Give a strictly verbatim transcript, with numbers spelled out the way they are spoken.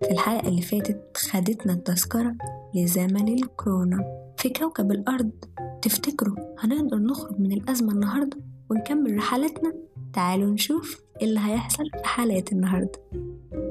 في الحلقة اللي فاتت خدتنا التذكرة لزمن الكورونا في كوكب الأرض. تفتكروا هنقدر نخرج من الأزمة النهاردة ونكمل رحلتنا؟ تعالوا نشوف إيه اللي هيحصل في حلقة النهاردة.